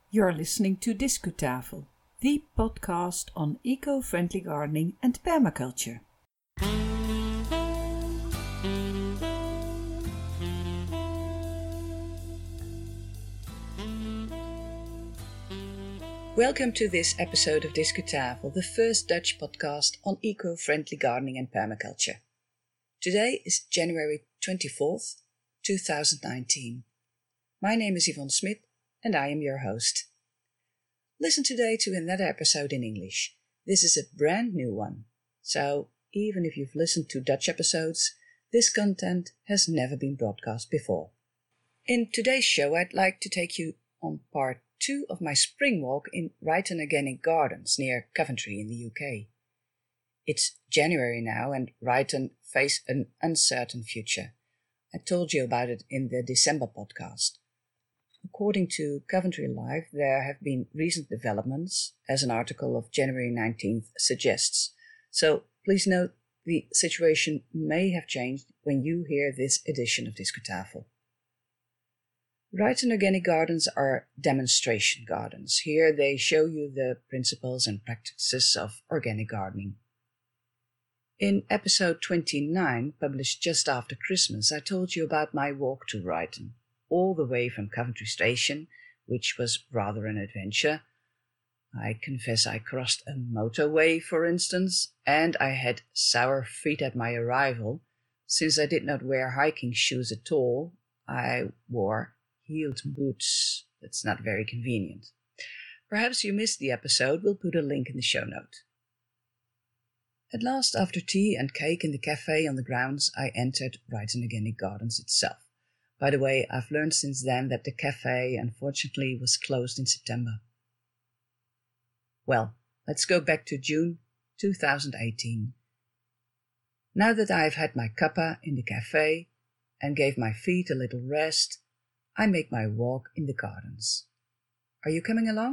You're listening to Discutafel, the podcast on eco-friendly gardening and permaculture. Welcome to this episode of Discutafel, the first Dutch podcast on eco-friendly gardening and permaculture. Today is January 24th, 2019. My name is Yvonne Smit and I am your host. Listen today to another episode in English. This is a brand new one, so even if you've listened to Dutch episodes, this content has never been broadcast before. In today's show, I'd like to take you on part 2 of my spring walk in Ryton Organic Gardens near Coventry in the UK. It's January now and Ryton face an uncertain future. I told you about it in the December podcast. According to Coventry Live, there have been recent developments, as an article of January 19th suggests. So please note the situation may have changed when you hear this edition of Discutafel. Ryton Organic Gardens are demonstration gardens. Here they show you the principles and practices of organic gardening. In episode 29, published just after Christmas, I told you about my walk to Ryton, all the way from Coventry Station, which was rather an adventure. I confess I crossed a motorway, for instance, and I had sour feet at my arrival. Since I did not wear hiking shoes at all, I wore heeled boots. That's not very convenient. Perhaps you missed the episode. We'll put a link in the show note. At last, after tea and cake in the cafe on the grounds, I entered Ryton Organic Gardens itself. By the way, I've learned since then that the cafe, unfortunately, was closed in September. Well, let's go back to June 2018. Now that I've had my cuppa in the cafe and gave my feet a little rest, I make my walk in the gardens. Are you coming along?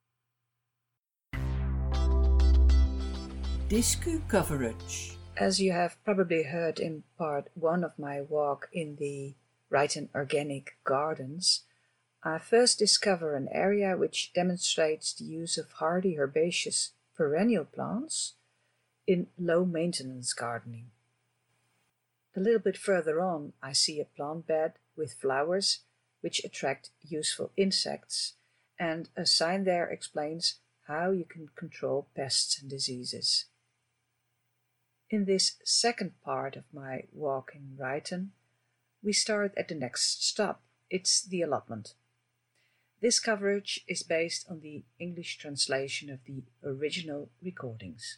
Discu coverage. As you have probably heard in part 1 of my walk in the Ryton Organic Gardens, I first discover an area which demonstrates the use of hardy herbaceous perennial plants in low-maintenance gardening. A little bit further on, I see a plant bed with flowers which attract useful insects, and a sign there explains how you can control pests and diseases. In this second part of my walk in Ryton, we start at the next stop. It's the allotment. This coverage is based on the English translation of the original recordings.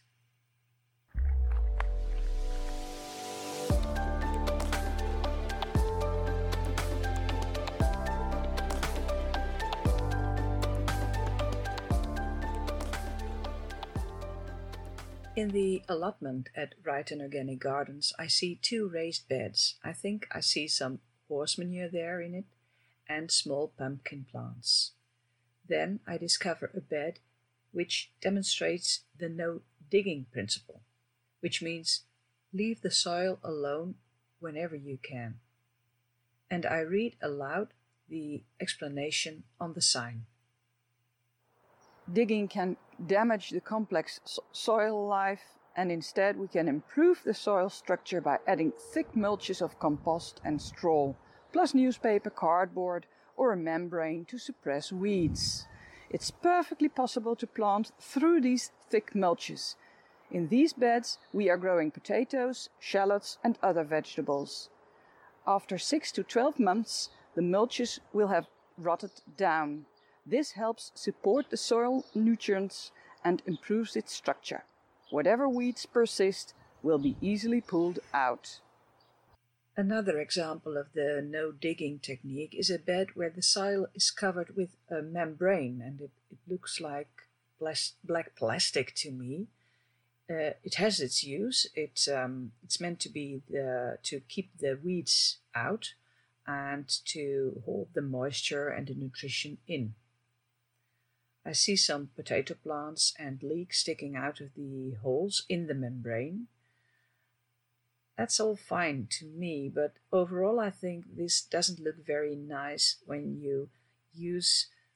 In the allotment at Ryton Organic Gardens, I see 2 raised beds. I think I see some horse manure there in it and small pumpkin plants. Then I discover a bed which demonstrates the no-digging principle, which means leave the soil alone whenever you can. And I read aloud the explanation on the sign. Digging can damage the complex soil life, and instead we can improve the soil structure by adding thick mulches of compost and straw, plus newspaper, cardboard or a membrane to suppress weeds. It's perfectly possible to plant through these thick mulches. In these beds we are growing potatoes, shallots and other vegetables. After 6 to 12 months the mulches will have rotted down. This helps support the soil nutrients and improves its structure. Whatever weeds persist will be easily pulled out. Another example of the no-digging technique is a bed where the soil is covered with a membrane, and it looks like black plastic to me. It has its use. It's meant to be to keep the weeds out and to hold the moisture and the nutrition in. I see some potato plants and leeks sticking out of the holes in the membrane. That's all fine to me, but overall I think this doesn't look very nice when you use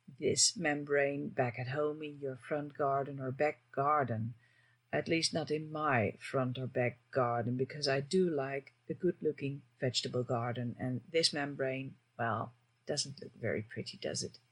this membrane back at home in your front garden or back garden. At least not in my front or back garden, because I do like a good-looking vegetable garden, and this membrane, well, doesn't look very pretty, does it?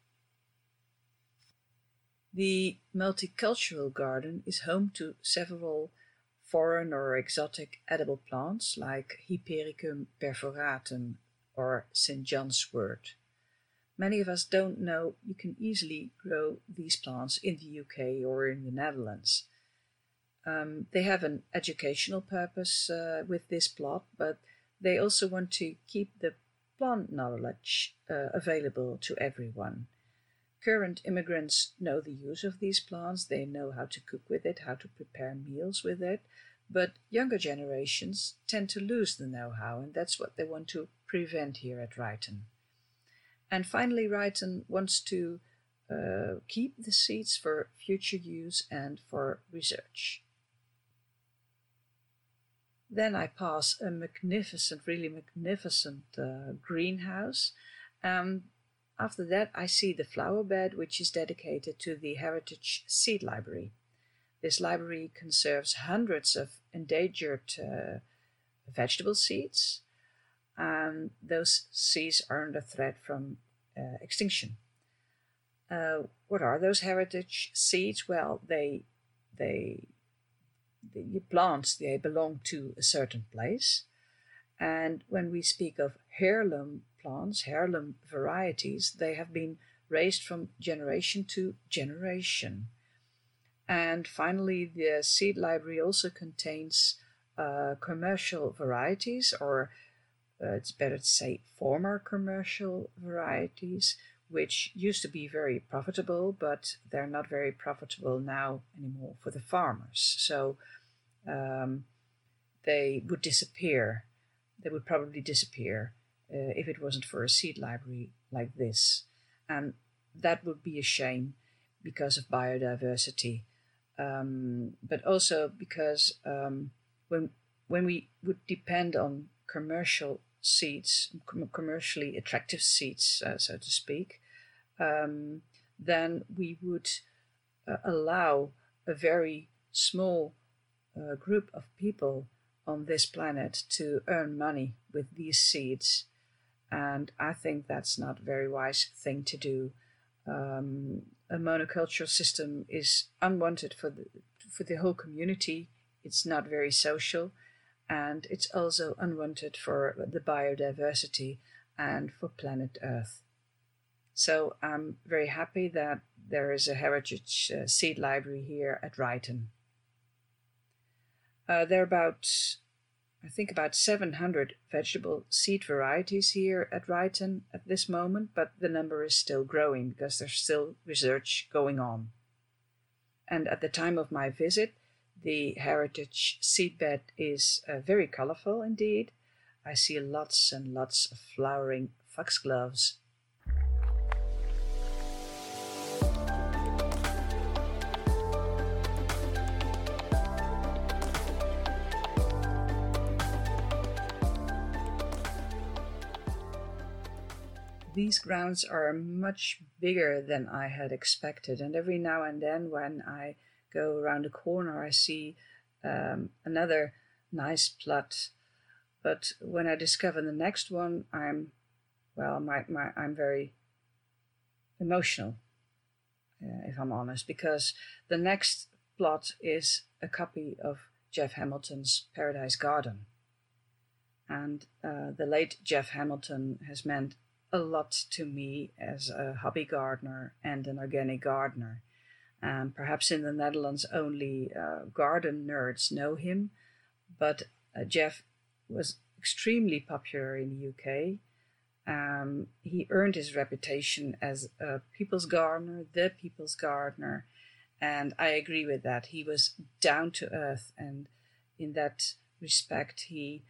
The multicultural garden is home to several foreign or exotic edible plants like Hypericum perforatum or St. John's wort. Many of us don't know you can easily grow these plants in the UK or in the Netherlands. They have an educational purpose with this plot, but they also want to keep the plant knowledge available to everyone. Current immigrants know the use of these plants, they know how to cook with it, how to prepare meals with it, but younger generations tend to lose the know-how, and that's what they want to prevent here at Ryton. And finally, Ryton wants to keep the seeds for future use and for research. Then I pass a magnificent, really magnificent greenhouse. After that, I see the flower bed, which is dedicated to the Heritage Seed Library. This library conserves hundreds of endangered vegetable seeds, and those seeds are under threat from extinction. What are those heritage seeds? Well, the plants, they belong to a certain place. And when we speak of heirloom plants, heirloom varieties, they have been raised from generation to generation. And finally, the seed library also contains commercial varieties, or it's better to say former commercial varieties, which used to be very profitable, but they're not very profitable now anymore for the farmers. So they would disappear. They would probably disappear if it wasn't for a seed library like this. And that would be a shame because of biodiversity, but also because when we would depend on commercial seeds, commercially attractive seeds, so to speak, then we would allow a very small group of people on this planet to earn money with these seeds. And I think that's not a very wise thing to do. A monocultural system is unwanted for the whole community. It's not very social, and it's also unwanted for the biodiversity and for planet Earth. So I'm very happy that there is a heritage seed library here at Ryton. There are about 700 vegetable seed varieties here at Ryton at this moment, but the number is still growing because there's still research going on. And at the time of my visit, the heritage seedbed is very colorful indeed. I see lots and lots of flowering foxgloves. These grounds are much bigger than I had expected, and every now and then when I go around the corner I see another nice plot. But when I discover the next one, I'm very emotional, if I'm honest, because the next plot is a copy of Jeff Hamilton's Paradise Garden. And the late Jeff Hamilton has meant a lot to me as a hobby gardener and an organic gardener. Perhaps in the Netherlands only garden nerds know him, but Jeff was extremely popular in the UK. He earned his reputation as a people's gardener, the people's gardener, and I agree with that. He was down to earth, and in that respect he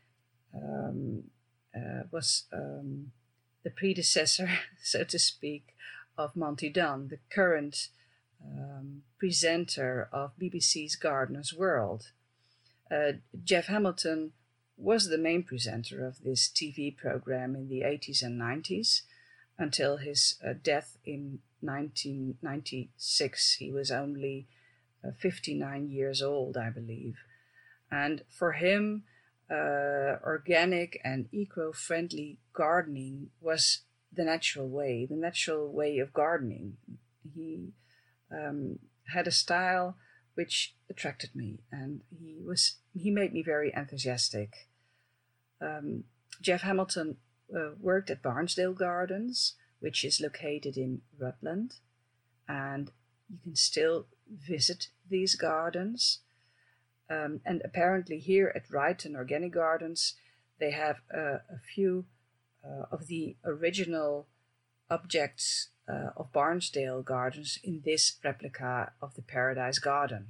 was the predecessor, so to speak, of Monty Dunn, the current presenter of BBC's Gardener's World. Jeff Hamilton was the main presenter of this TV program in the 80s and 90s until his death in 1996. He was only 59 years old, I believe. And for him, organic and eco-friendly gardening was the natural way of gardening. He had a style which attracted me, and he made me very enthusiastic. Jeff Hamilton worked at Barnsdale Gardens, which is located in Rutland, and you can still visit these gardens. And apparently here at Ryton Organic Gardens, they have a few of the original objects of Barnsdale Gardens in this replica of the Paradise Garden.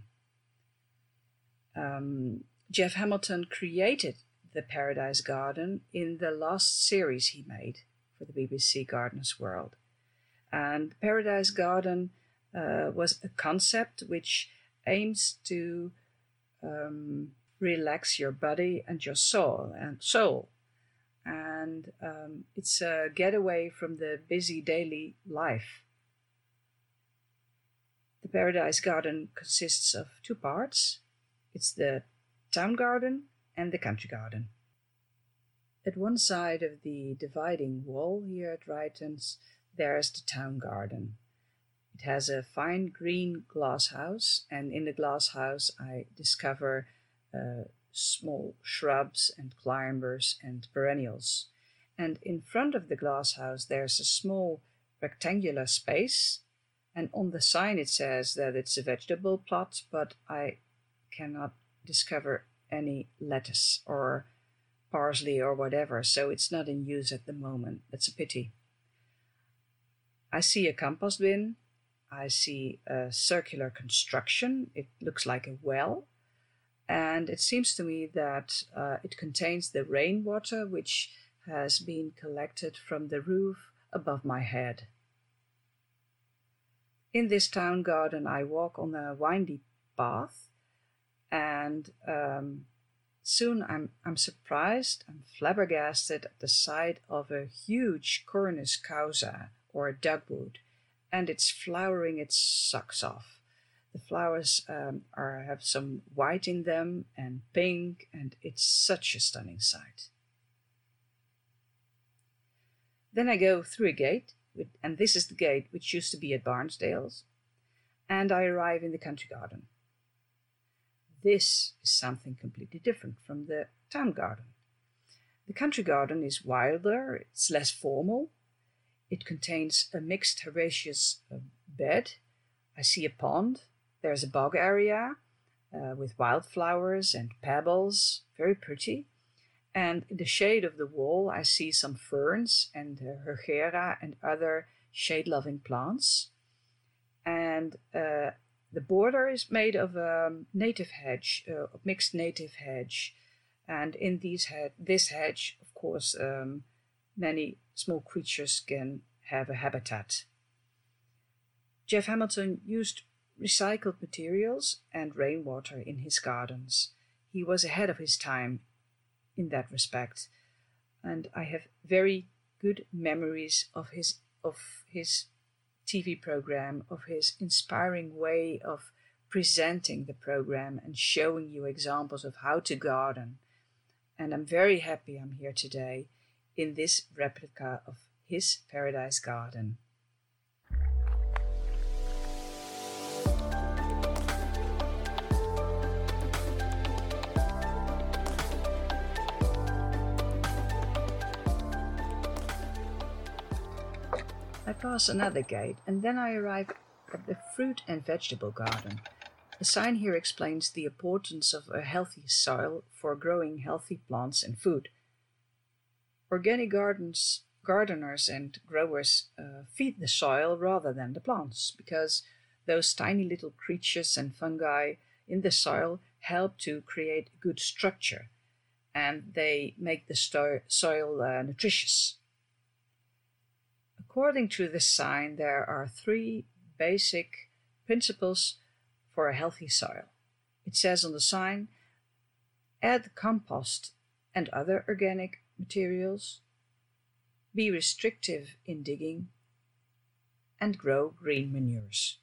Jeff Hamilton created the Paradise Garden in the last series he made for the BBC Gardeners World. And the Paradise Garden was a concept which aims to relax your body and your soul. And it's a getaway from the busy daily life. The Paradise Garden consists of two parts. It's the town garden and the country garden. At one side of the dividing wall here at Rytons, there's the town garden. It has a fine green glass house, and in the glass house I discover small shrubs and climbers and perennials. And in front of the glass house there's a small rectangular space, and on the sign it says that it's a vegetable plot, but I cannot discover any lettuce or parsley or whatever, so it's not in use at the moment. That's a pity. I see a compost bin. I see a circular construction. It looks like a well. And it seems to me that it contains the rainwater which has been collected from the roof above my head. In this town garden, I walk on a windy path, and soon I'm surprised, I'm flabbergasted at the sight of a huge Cornus causa, or dogwood, and it's flowering its socks off. The flowers have some white in them and pink, and it's such a stunning sight. Then I go through a gate, and this is the gate which used to be at Barnsdale's, and I arrive in the country garden. This is something completely different from the town garden. The country garden is wilder, it's less formal. It contains a mixed herbaceous bed. I see a pond. There's a bog area with wildflowers and pebbles, very pretty. And in the shade of the wall, I see some ferns and heuchera and other shade-loving plants. And the border is made of a native hedge, a mixed native hedge. And in this hedge, of course, many small creatures can have a habitat. Jeff Hamilton used recycled materials and rainwater in his gardens. He was ahead of his time in that respect, and I have very good memories of his TV program, of his inspiring way of presenting the program and showing you examples of how to garden. And I'm very happy I'm here today in this replica of his Paradise Garden. I pass another gate, and then I arrive at the fruit and vegetable garden. The sign here explains the importance of a healthy soil for growing healthy plants and food. Organic gardeners and growers feed the soil rather than the plants, because those tiny little creatures and fungi in the soil help to create good structure, and they make the soil nutritious. According to the sign, there are 3 basic principles for a healthy soil. It says on the sign, add compost and other organic materials, be restrictive in digging, and grow green manures.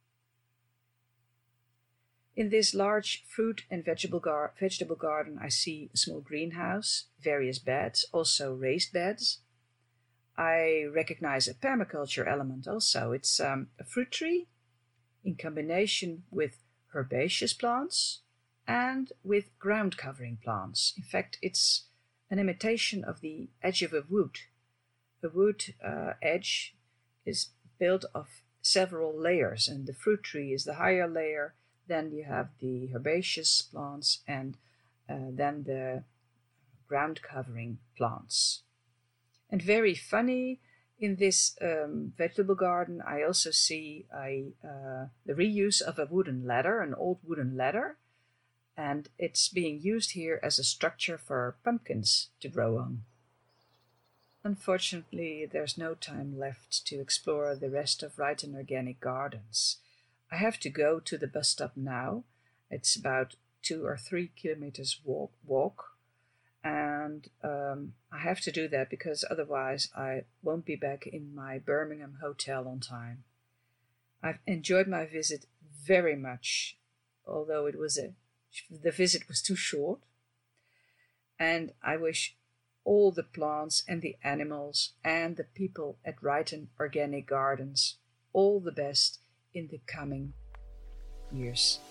In this large fruit and vegetable garden, I see a small greenhouse, various beds, also raised beds. I recognize a permaculture element also. It's a fruit tree in combination with herbaceous plants and with ground covering plants. In fact, it's an imitation of the edge of a wood. A wood edge is built of several layers, and the fruit tree is the higher layer. Then you have the herbaceous plants and then the ground covering plants. And very funny, in this vegetable garden, I also see the reuse of a wooden ladder, an old wooden ladder, and it's being used here as a structure for pumpkins to grow on. Unfortunately, there's no time left to explore the rest of Ryton Organic Gardens. I have to go to the bus stop now. It's about 2 or 3 kilometers walk. And I have to do that because otherwise I won't be back in my Birmingham hotel on time. I've enjoyed my visit very much, although the visit was too short. And I wish all the plants and the animals and the people at Ryton Organic Gardens all the best in the coming years.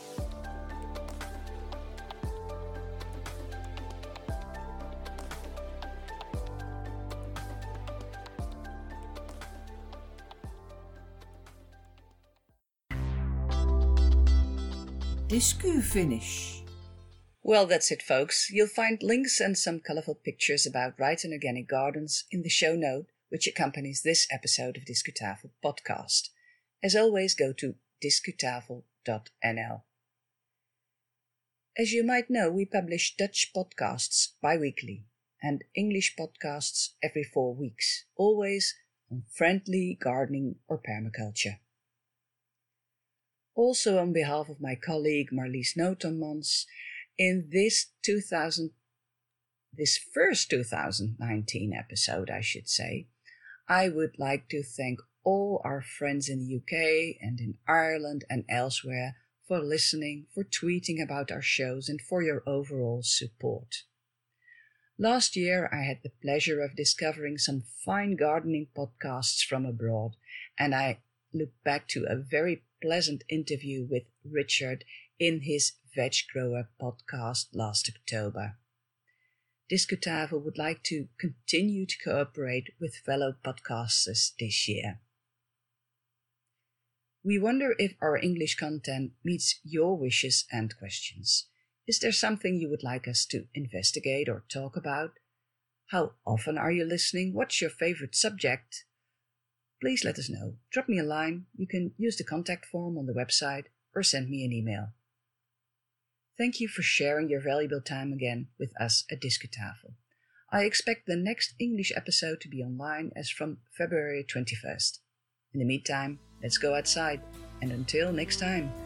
Discu finish. Well, that's it, folks. You'll find links and some colourful pictures about Ryton Organic Gardens in the show note which accompanies this episode of Discutafel podcast. As always, go to discutafel.nl. As you might know, we publish Dutch podcasts bi-weekly and English podcasts every 4 weeks, always on friendly gardening or permaculture. Also, on behalf of my colleague Marlies Notenmans, in this first 2019 episode, I should say, I would like to thank all our friends in the UK and in Ireland and elsewhere for listening, for tweeting about our shows, and for your overall support. Last year, I had the pleasure of discovering some fine gardening podcasts from abroad, and I look back to a very pleasant interview with Richard in his Veg Grower podcast last October. Discutafel would like to continue to cooperate with fellow podcasters this year. We wonder if our English content meets your wishes and questions. Is there something you would like us to investigate or talk about? How often are you listening? What's your favorite subject? Please let us know. Drop me a line. You can use the contact form on the website or send me an email. Thank you for sharing your valuable time again with us at Discutafel. I expect the next English episode to be online as from February 21st. In the meantime, let's go outside, and until next time.